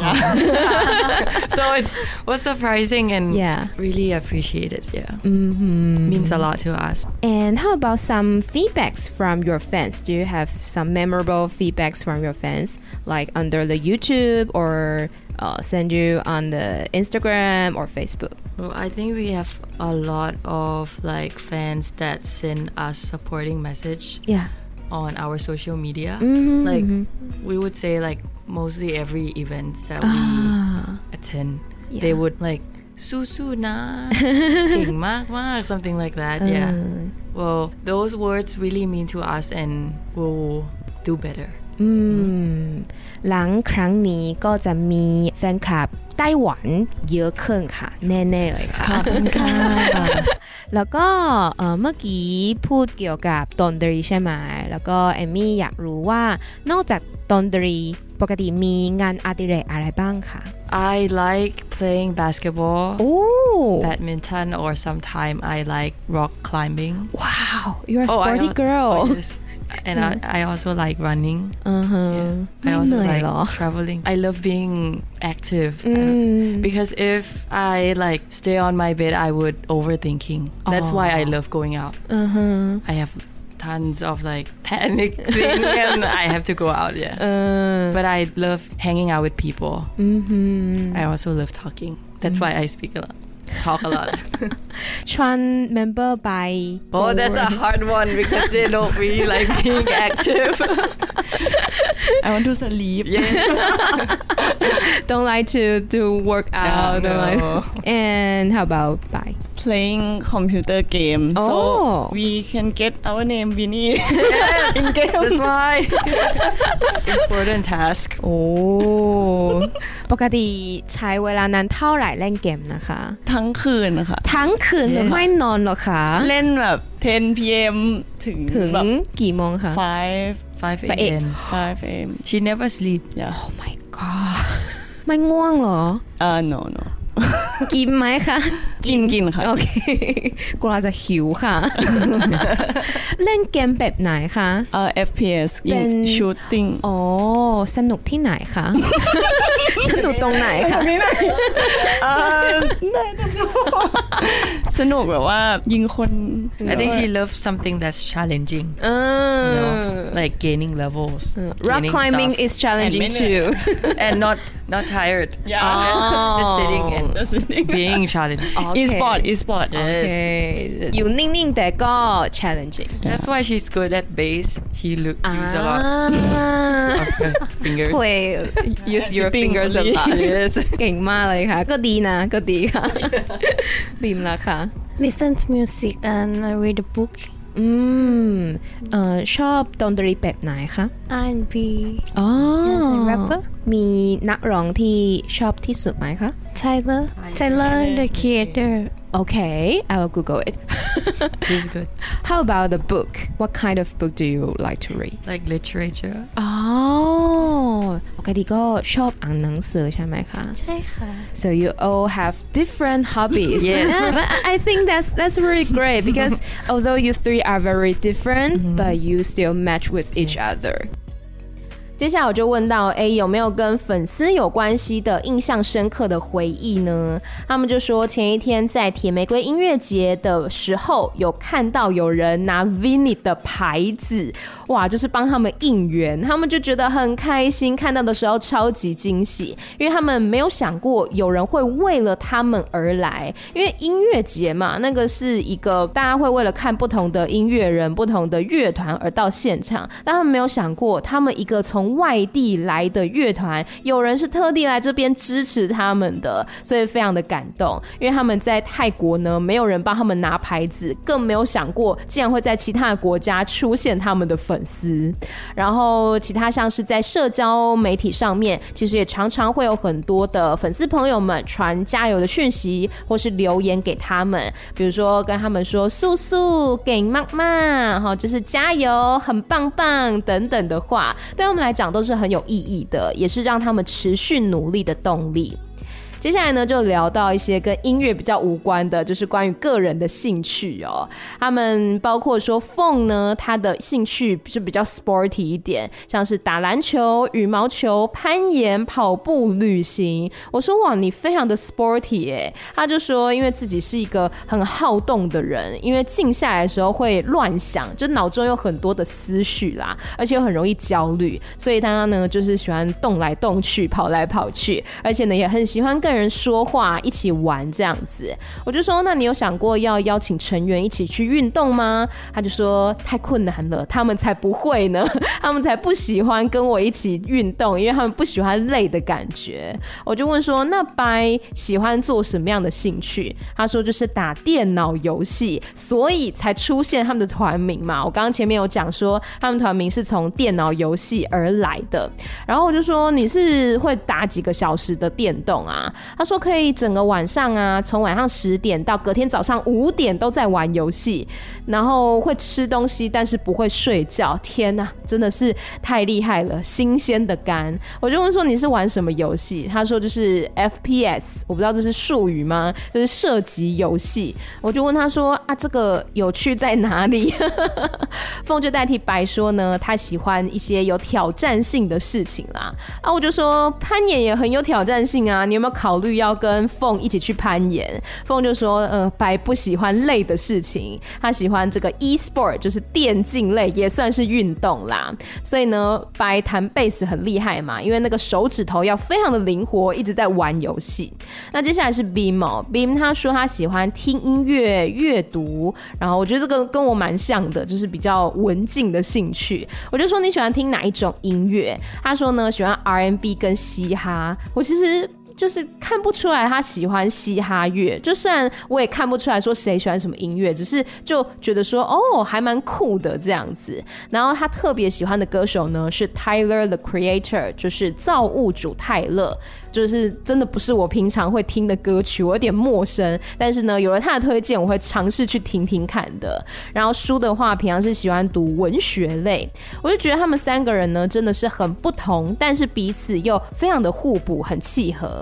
so it was surprising and yeah. really appreciated yeah mm-hmm. means a lot to us and how about some feedbacks from your fans do you have some memorable feedbacks from your fans like under the YouTube or uh, send you on the Instagram or Facebook well I think we have a lot of like fans that send us supporting message yeah on our social media mm-hmm, like mm-hmm. we would say like mostly every event that we ah, attend yeah. they would like สู้ๆนะเก่งมากมาก something like that uh. yeah well those words really mean to us and we'll do better อืมหลังครั้งนี้ก็จะมีแฟนคลับไต้หวันเยอะขึ้นค่ะแน่ๆเลยค่ะขอบคุณค่ะแล้วก็เอ่อเมื่อกี้พูดเกี่ยวกับดนตรีใช่ไหมแล้วก็เอมมี่อยากรู้ว่านอกจากดนตรีปกติมีงานอดิเรกอะไรบ้างค่ะ I like playing basketball Ooh. badminton or sometimes I like rock climbing wow you're a oh, sporty I, girl oh, yes. and I, I also like running uh-huh. yeah. I also like traveling I love being active mm. because if I like stay on my bed I would overthinking that's oh. why I love going out uh-huh. I have tons of like panic thing and I have to go out yeah uh. but I love hanging out with people mm-hmm. I also love talking that's mm-hmm. why I speak a lot talk a lot Chuan member by oh that's a hard one because they don't really like being active I want to sleep yeah don't like to to work out yeah, no. like, and how about by playing computer game oh. so we can get our name Vini yes, in game that's why important task โอ้ปกติใช้เวลานานเท่าไหร่เล่นเกมนะคะทั้งคืนนะคะทั้งคืน yes. ไม่นอนหรอคะเล่นแบบ ten p.m. ถึงถึงกี่โมงคะ five five a.m. five a.m. she never sleep yeah oh my god ไม่ง่วงเหรอเออ no no กินไหมคะกินกินค่ะโอเคกลัวจะหิวค่ะเล่นเกมแบบไหนคะเอ่อ เอฟ พี เอส ยิง shooting อ๋อสนุกที่ไหนคะสนุกตรงไหนคะที่ไหนเอ่อสนุกแบบว่ายิงคน I think she loves something that's challenging uh, you know, like gaining levels uh, rock climbing stuff. is challenging too and not not tired yeah oh. just sitting and just sitting being challenged okay. e-sport e-sport yes. okay อยู่นิ่งๆแต่ก็ challenging that's why she's good at bass she look, use a lot of her fingers play use your fingers a lot yes เก่งมากเลยค่ะก็ดีนะก็ดีค่ะบีมล่ะค่ะ listen to music and read a book อืมเอ่อชอบดนตรีแบบไหนคะอาร์ แอนด์ บีอ๋อ yes and rapper มีนักร้องที่ชอบที่สุดไหมคะ Tyler Tyler the Creator okay I will Google it he's good how about the book what kind of book do you like to read like literature อ๋อปกติก็ชอบอ่านหนังสือใช่ไหมคะใช่ค่ะ so you all have different hobbies yes but I think that's that's really great because although you three are very different mm-hmm. but you still match with each other 接下来我就問到，哎，有沒有跟粉絲有關係的印象深刻的回憶呢？他們就說前一天在鐵玫瑰音樂節的時候，有看到有人拿 Vini 的牌子，哇，就是幫他們應援，他們就覺得很開心，看到的時候超級驚喜，因為他們沒有想過有人會為了他們而來，因為音樂節嘛，那個是一個大家會為了看不同的音樂人、不同的樂團而到現場，但他們沒有想過，他們一個從從外地來的樂團，有人是特地來這邊支持他們的，所以非常的感動。因為他們在泰國呢，沒有人幫他們拿牌子，更沒有想過竟然會在其他的國家出現他們的粉絲。然後其他像是在社交媒體上面，其實也常常會有很多的粉絲朋友們傳加油的訊息，或是留言給他們，比如說跟他們說素素給媽媽，就是加油很棒棒等等的話，對他們來講都是很有意義的，也是讓他們持續努力的動力。接下來呢，就聊到一些跟音樂比較無關的，就是關於個人的興趣哦。他們包括說鳳呢，他的興趣是比較 sporty 一點，像是打籃球、羽毛球、攀岩、跑步、旅行。我說哇，你非常的 sporty 耶。他就說，因為自己是一個很好動的人，因為靜下來的時候會亂想，就腦中有很多的思緒啦，而且又很容易焦慮，所以他呢就是喜歡動來動去、跑來跑去，而且呢也很喜歡跟人說話，一起玩這樣子。我就說，那你有想過要邀請成員一起去運動嗎？他就說太困難了，他們才不會呢，他們才不喜歡跟我一起運動，因為他們不喜歡累的感覺。我就問說，那白喜歡做什麼樣的興趣？他說就是打電腦遊戲，所以才出現他們的團名嘛。我剛剛前面有講說，他們團名是從電腦遊戲而來的。然後我就說，你是會打幾個小時的電動啊？他說可以整個晚上啊，從晚上十點到隔天早上五點都在玩遊戲，然後會吃東西，但是不會睡覺。天哪，真的是太厲害了，新鮮的肝。我就問說你是玩什麼遊戲？他說就是 F P S， 我不知道這是術語嗎？就是射擊遊戲。我就問他說啊，這個有趣在哪裡？鳳就代替白說呢，他喜歡一些有挑戰性的事情啦。啊，我就說攀岩也很有挑戰性啊，你有沒有考慮要跟鳳一起去攀岩？鳳就說呃，白不喜歡累的事情，他喜歡這個 e-sport， 就是電競類，也算是運動啦。所以呢，白彈貝斯很厲害嘛，因為那個手指頭要非常的靈活，一直在玩遊戲。那接下來是 Beam 哦 ，Beam 他說他喜歡聽音樂、閱讀，然後我覺得這個跟我蠻像的，就是比較文靜的興趣。我就說你喜歡聽哪一種音樂？他說呢，喜歡 R and B 跟嘻哈。我其實就是看不出來他喜歡嘻哈樂，就雖然我也看不出來說誰喜歡什麼音樂，只是就覺得說哦，還蠻酷的這樣子。然後他特別喜歡的歌手呢是 Tyler the Creator， 就是造物主泰勒，就是真的不是我平常會聽的歌曲，我有點陌生，但是呢有了他的推薦，我會嘗試去聽聽看的。然後書的話，平常是喜歡讀文學類，我就覺得他們三個人呢真的是很不同，但是彼此又非常的互補，很契合。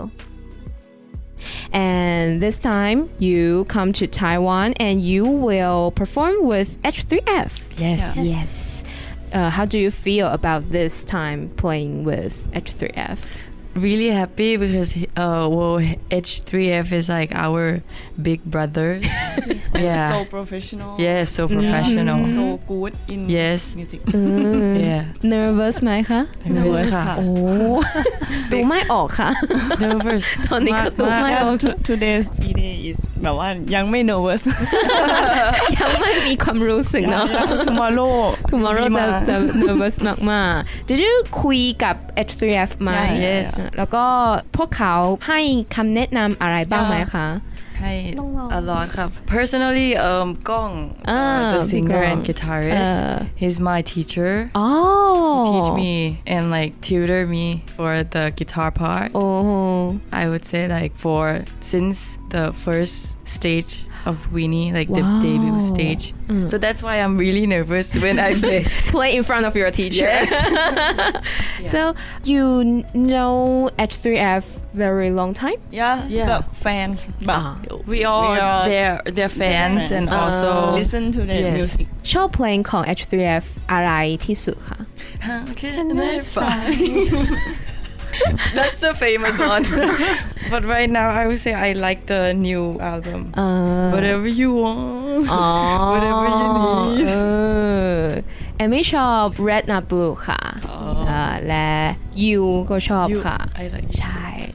And this time you come to Taiwan and you will perform with H three F. Yes. Yes. yes. Uh, how do you feel about this time playing with H three F? Really happy because uh well H three F is like our big brother. Yeah. So professional. Yeah, so professional. Mm. So good in yes. music. Mm. Yeah. Nervous ไหมคะ Nervous ค่ะโอ้ดูไม่ออกค่ะ Nervous ตอนนี้ก็ดูไม่ออก Today's day is แบบว่ายังไม่ nervous ยังไม่มีความรู้สึกเนาะ Tomorrow Tomorrow จะจะ nervous มากๆ Did you คุยกับ H three F มา Yes แล้วก็พวกเขาให้คำแนะนำอะไรบ้างไหมคะให้ a lot ครับ Personally um ก้อง uh, the singer and guitarist uh, he's my teacher oh he teach me and like tutor me for the guitar part oh I would say like for since the first stage of Weenie, like wow. the debut stage. Mm. So that's why I'm really nervous when I play. Play in front of your teacher. Yes. Yeah. So you know H three F very long time? Yeah, yeah. The fans. But uh, we all we are their their fans, fans and uh, also listen to their yes. music. ชอบเพลงของ H three F อะไรที่สุดคะ How can I find That's the famous one. But right now I would say I like the new album. Uh, Whatever you want. Oh, Whatever you need. เอมี่ชอบ Red Not Blue ค่ะ และ You ก็ชอบค่ะ I like ใช่โอเค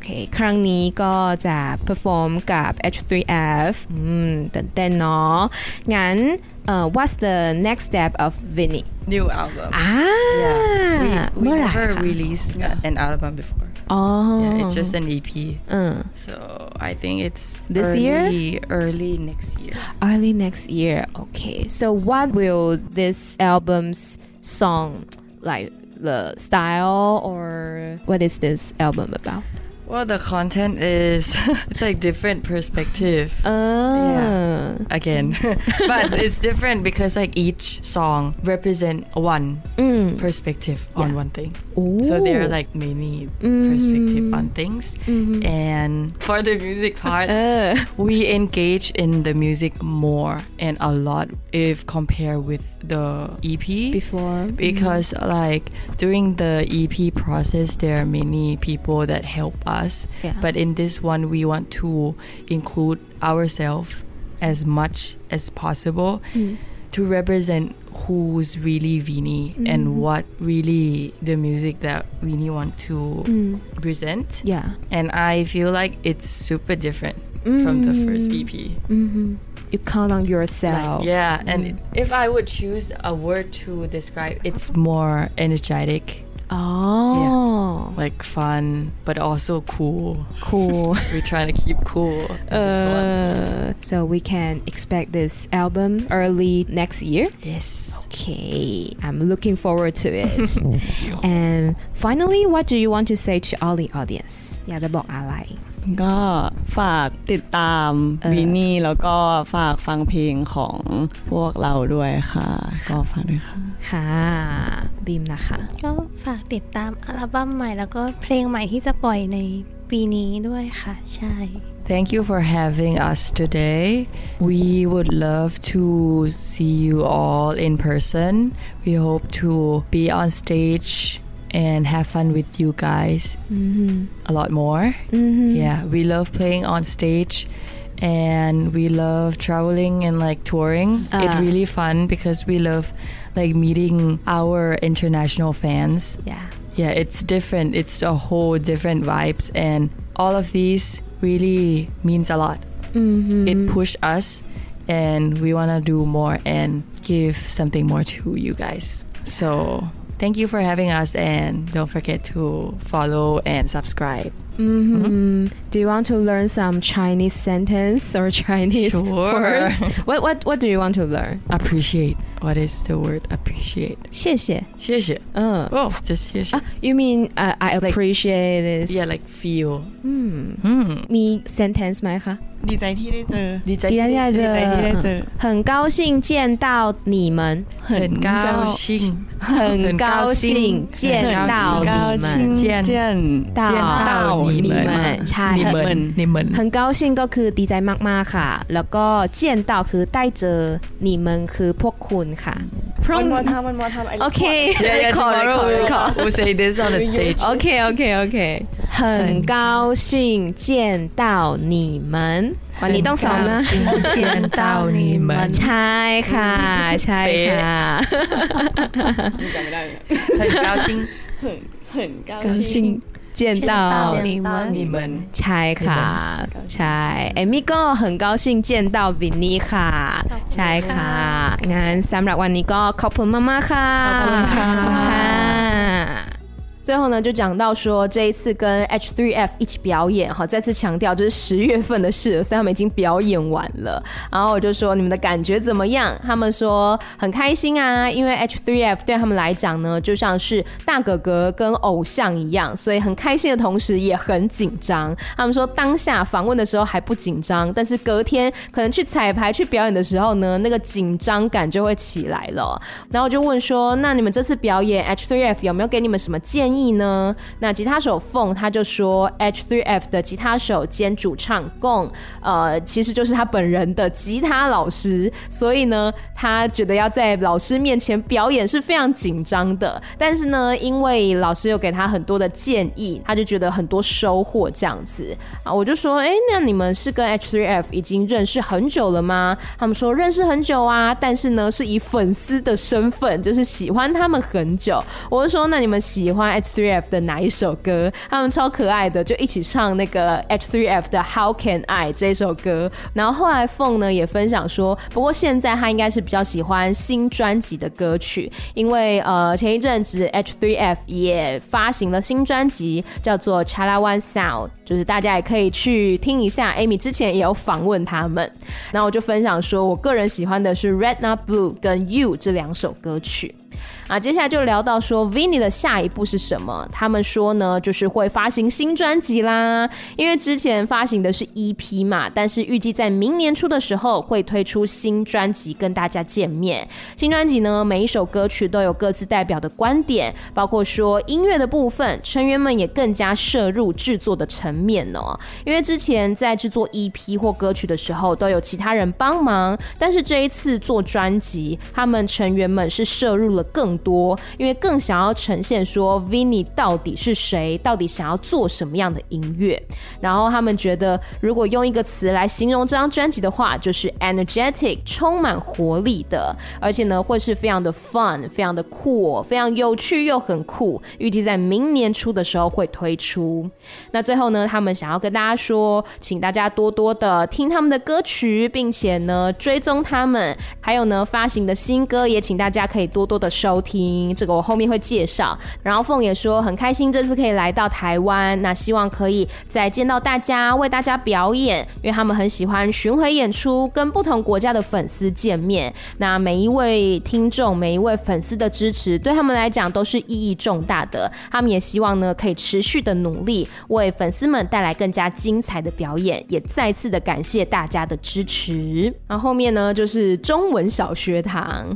เคครั้งนี้ก็จะ perform กับ เอช ทรี เอฟ อืมตื่นเต้นเนาะงั้น uh, what's the next step of Vinny new album อ่า yeah we, we เมื่อไหร่ never คะ released an album before อ๋อ yeah it's just an อี พี uh. so I think it's this early, year early next year early next year okay so what will this album's song like the style or what is this album about well the content is it's like different perspective uh. yeah again but it's different because like each song represent one mm. perspective yeah. on one thing Ooh. So there are like many mm. perspective on things mm-hmm. and for the music part uh. we engage in the music more and a lot if compared with the E P before because mm. like during the E P process there are many people that help us yeah. but in this one we want to include ourselves as much as possible mm. to represent who's really Vinny mm. and what really the music that Vinny want to mm. present yeah and I feel like it's super different mm. from the first E P mm-hmm. you count on yourself like, yeah mm. and if I would choose a word to describe it's more energetic oh yeah. like fun but also cool cool we're trying to keep cool in this uh, one. So we can expect this album early next year yes okay I'm looking forward to it and finally what do you want to say to all the audience อยากจะบอกอะไรก็ฝากติดตามวินนี่แล้วก็ฝากฟังเพลงของพวกเราด้วยค่ะก็ฝากด้วยค่ะค่ะบีมนะคะก็ฝากติดตามอัลบั้มใหม่แล้วก็เพลงใหม่ที่จะปล่อยในปีนี้ด้วยค่ะใช่ Thank you for having us today. We would love to see you all in person. We hope to be on stage and have fun with you guys mm-hmm. a lot more. Mm-hmm. Yeah, we love playing on stage and we love traveling and like touring. Uh. It's really fun because we love like meeting our international fans. Yeah. Yeah, it's different. It's a whole different vibes and all of these really means a lot. Mm-hmm. It pushed us and we want to do more and give something more to you guys. So thank you for having us and don't forget to follow and subscribe. Mm-hmm. Mm-hmm. Do you want to learn some Chinese sentence or Chinese sure. words? What what what do you want to learn? Appreciate. What is the word appreciate? 谢谢谢谢 uh. Oh, just 谢谢 uh, You mean uh, I appreciate like, this? Yeah, like feel. Hmm. Hmm. มี sentence ไหมคะดีใจที่ได้เจอดีใจที่ได้เจอ很高興見到你們很高興很高興見到你們見到你們ใช่很高興ก็คือดีใจมากๆค่ะแล้วก็見到คือได้เจอ你們คือพวกคุณค่ะ One more time, one more time. Okay. Yeah, yeah, tomorrow we'll, we'll say this on the stage. Okay, okay, okay. 很高興見到你們วันนี้ต้องซ้อมนะ見到你們ใช่ค่ะใช่ค่ะจำไม่ได้很高興很高興見到你們ใช่ค่ะใช่เอมี่ก็很高興見到วินนี่ค่ะใช่ค่ะงั้นสำหรับวันนี้ก็ขอบคุณมากๆค่ะขอบคุณค่ะ最后呢，就講到說這一次跟 H 三 F 一起表演，好，再次強調這是十月份的事，所以他們已經表演完了。然後我就說你們的感覺怎麼樣？他們說很開心啊，因為 H 三 F 對他們來講呢，就像是大哥哥跟偶像一樣，所以很開心的同時也很緊張。他們說當下訪問的時候還不緊張，但是隔天可能去彩排去表演的時候呢，那個緊張感就會起來了。然後我就問說，那你們這次表演 H 三 F 有沒有給你們什麼建議呢？那吉他手鳳他就說 H 三 F 的吉他手兼主唱貢呃，其實就是他本人的吉他老師，所以呢他覺得要在老師面前表演是非常緊張的，但是呢因為老師有給他很多的建議，他就覺得很多收穫這樣子啊。我就說哎，那你們是跟 H 三 F 已經認識很久了嗎？他們說認識很久啊，但是呢是以粉絲的身份，就是喜歡他們很久。我就說那你們喜歡 H H three F 的哪一首歌，他們超可愛的，就一起唱那個 H three F 的 How Can I 這首歌。然後後來鳳呢也分享說，不過現在他應該是比較喜歡新專輯的歌曲，因為呃前一陣子 H three F 也發行了新專輯，叫做 Chalawan Sound， 就是大家也可以去聽一下。Amy 之前也有訪問他們，然後我就分享說，我個人喜歡的是 Red Not Blue 跟 You 這兩首歌曲。啊，接下來就聊到說 Vinny 的下一步是什麼？他們說呢，就是會發行新專輯啦。因為之前發行的是 E P 嘛，但是預計在明年初的時候會推出新專輯跟大家見面。新專輯呢，每一首歌曲都有各自代表的觀點，包括說音樂的部分，成員們也更加涉入制作的層面哦。因為之前在制作 E P 或歌曲的時候，都有其他人幫忙，但是這一次做專輯，他們成員們是涉入了更多，因為更想要呈現說 Vinny 到底是誰，到底想要做什麼樣的音樂。然後他們覺得，如果用一個詞來形容這張專輯的話，就是 energetic， 充滿活力的，而且呢會是非常的 fun， 非常的酷，非常有趣又很酷。預計在明年初的時候會推出。那最後呢，他們想要跟大家說，請大家多多的聽他們的歌曲，並且呢追蹤他們，還有呢發行的新歌也請大家可以多多的收聽，這個我後面會介紹。然後鳳也說很開心這次可以來到台灣，那希望可以再見到大家，為大家表演，因為他們很喜歡巡迴演出，跟不同國家的粉絲見面。那每一位聽眾每一位粉絲的支持對他們來講都是意義重大的，他們也希望呢可以持續的努力，為粉絲們帶來更加精彩的表演，也再次的感謝大家的支持。然後後面呢就是中文小學堂。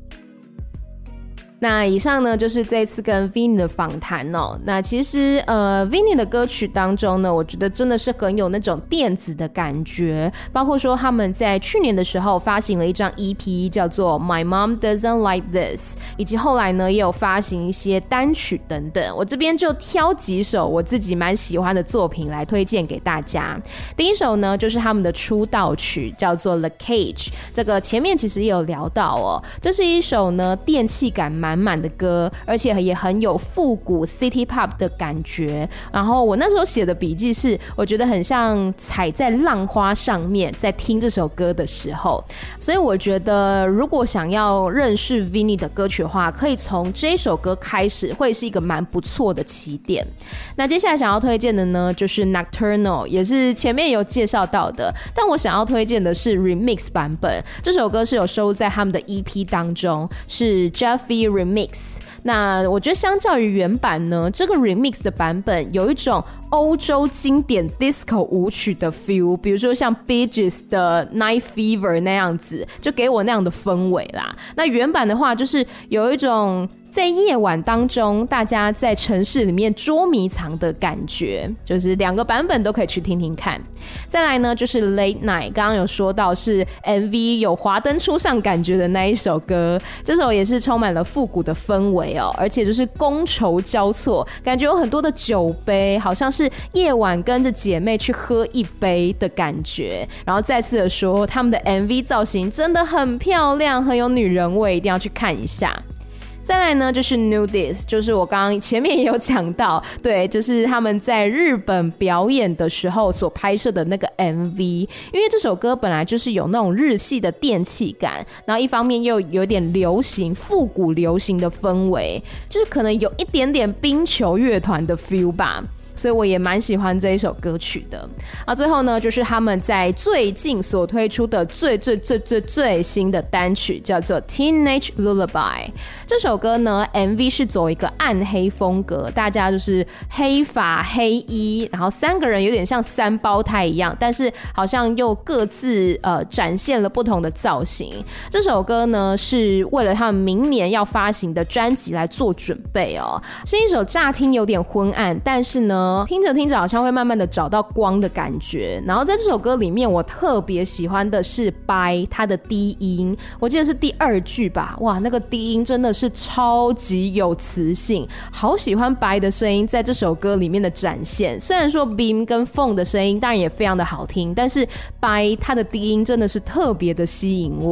那以上呢就是這次跟 Vinny 的訪談哦。那其實呃 Vinny 的歌曲當中呢，我覺得真的是很有那種電子的感覺，包括說他們在去年的時候發行了一張 E P 叫做 My Mom Doesn't Like This， 以及後來呢也有發行一些單曲等等。我這邊就挑幾首我自己蠻喜歡的作品來推薦給大家。第一首呢就是他們的出道曲，叫做 The Cage， 這個前面其實也有聊到哦，這是一首呢電氣感蠻滿滿的歌，而且也很有復古 City Pop 的感覺。然後我那時候寫的筆記是，我覺得很像踩在浪花上面，在聽這首歌的時候。所以我覺得，如果想要認識 Vinny 的歌曲的話，可以從這首歌開始，會是一個蠻不錯的起點。那接下來想要推薦的呢，就是 Nocturnal， 也是前面有介紹到的，但我想要推薦的是 Remix 版本。這首歌是有收錄在他們的 E P 當中，是 Jeffy Remix。那我覺得相較於原版呢，這個 remix 的版本有一種歐洲經典 disco 舞曲的 feel， 比如說像 Bee Gees 的 Night Fever 那樣子，就給我那樣的氛圍啦。那原版的話就是有一種在夜晚當中大家在城市裡面捉迷藏的感覺，就是兩個版本都可以去聽聽看。再來呢就是 Late Night， 剛剛有說到是 M V 有華燈初上感覺的那一首歌，這首也是充滿了復古的氛圍哦，而且就是觥籌交錯，感覺有很多的酒杯，好像是夜晚跟着姐妹去喝一杯的感覺。然後再次的說，他們的 M V 造型真的很漂亮，很有女人味，一定要去看一下。再來呢就是 Nudist， 就是我剛剛前面也有講到，對，就是他們在日本表演的時候所拍攝的那個 M V。 因為這首歌本來就是有那種日系的電氣感，然後一方面又有點流行復古流行的氛圍，就是可能有一點點冰球樂團的 feel 吧，所以我也蠻喜歡這一首歌曲的。啊，最後呢就是他們在最近所推出的最最最最最新的單曲，叫做 Teenage Lullaby。 這首歌呢 M V 是走一個暗黑風格，大家就是黑髮黑衣，然後三個人有點像三胞胎一樣，但是好像又各自呃展現了不同的造型。這首歌呢是為了他们明年要發行的專輯來做準備哦，是一首乍聽有點昏暗，但是呢聽着聽着好像會慢慢的找到光的感覺。然後在這首歌裡面我特別喜歡的是 Bye 他的低音，我記得是第二句吧，哇，那個低音真的是超級有磁性，好喜歡 Bye 的聲音在這首歌裡面的展現。雖然說 Beam 跟 Fong 的聲音當然也非常的好聽，但是 Bye 他的低音真的是特別的吸引我。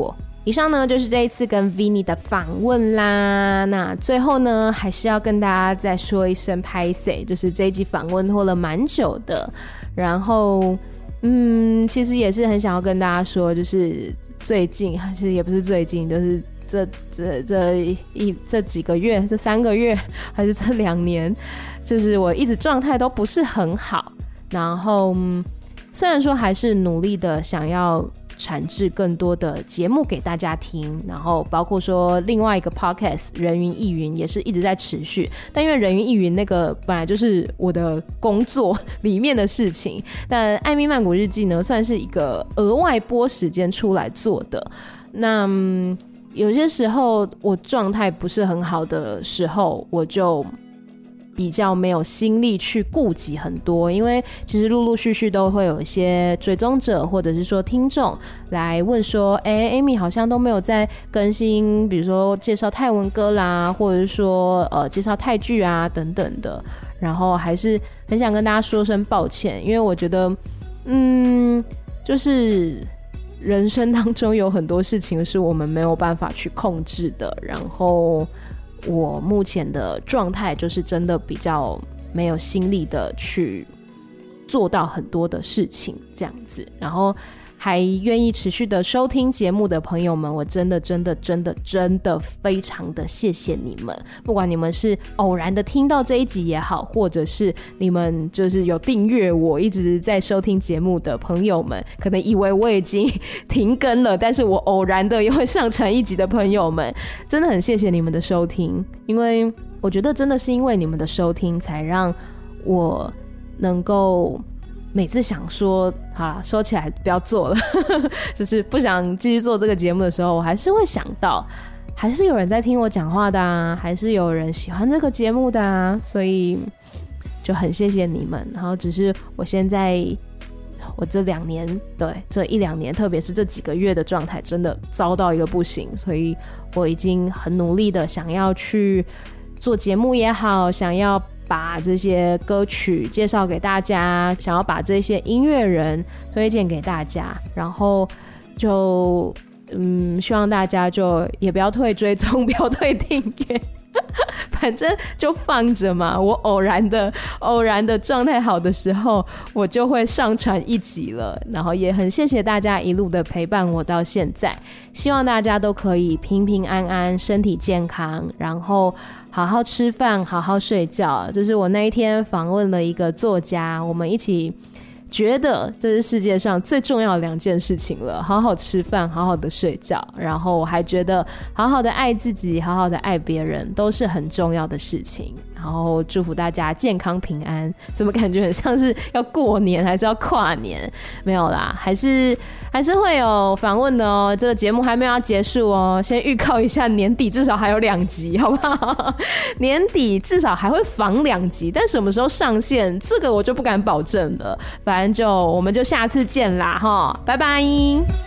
以上呢就是這一次跟 Vinny 的訪問啦。那最後呢，還是要跟大家再說一聲拍謝，就是這一集訪問拖了蠻久的。然後，嗯，其實也是很想要跟大家說，就是最近，其實也不是最近，就是這這這一這幾個月，這三個月，還是這兩年，就是我一直狀態都不是很好。然後，雖然說還是努力的想要產製更多的節目給大家聽，然後包括說另外一個 podcast 人云亦云也是一直在持續，但因為人云亦云那個本來就是我的工作裡面的事情，但艾咪曼谷日記呢算是一個額外撥時間出來做的。那、嗯、有些時候我狀態不是很好的時候，我就比較沒有心力去顧及很多，因為其實陸陸續續都會有一些追蹤者或者是說聽眾來問說，哎、欸、，Amy 好像都沒有在更新，比如說介紹泰文歌啦，或者是說呃介紹泰劇啊等等的，然後還是很想跟大家說聲抱歉，因為我覺得，嗯，就是人生當中有很多事情是我們沒有辦法去控制的，然後我目前的狀態就是真的比較沒有心力的去做到很多的事情這樣子，然後還願意持續的收聽節目的朋友們，我真的真的真的真的非常的謝謝你們，不管你們是偶然的聽到這一集也好，或者是你們就是有訂閱我一直在收聽節目的朋友們，可能以為我已經停更了，但是我偶然的也會上傳一集的朋友們，真的很謝謝你們的收聽，因為我覺得真的是因為你們的收聽才讓我能夠每次想說好啦，收起來不要做了就是不想繼續做這個節目的時候，我還是會想到還是有人在聽我講話的啊，還是有人喜歡這個節目的啊，所以就很謝謝你們。然後只是我現在我這兩年對這一兩年特別是這幾個月的狀態真的糟到一個不行，所以我已經很努力的想要去做節目也好，想要把這些歌曲介紹給大家，想要把這些音樂人推薦給大家，然後就嗯，希望大家就也不要退追蹤，不要退訂閱，反正就放着嘛。我偶然的偶然的狀態好的時候，我就會上傳一集了。然後也很謝謝大家一路的陪伴我到現在，希望大家都可以平平安安，身體健康，然後好好吃飯，好好睡覺。這是我那一天訪問了一個作家，我們一起覺得這是世界上最重要的兩件事情了，好好吃飯，好好的睡覺，然後我還覺得好好的愛自己，好好的愛別人都是很重要的事情。然後祝福大家健康平安。怎麼感覺很像是要過年還是要跨年？沒有啦，還是還是會有訪問的哦。這個節目還沒有要結束哦，先預告一下，年底至少還有兩集，好不好？年底至少還會訪兩集，但什麼時候上線，這個我就不敢保證了。反正就我們就下次見啦，齁，拜拜。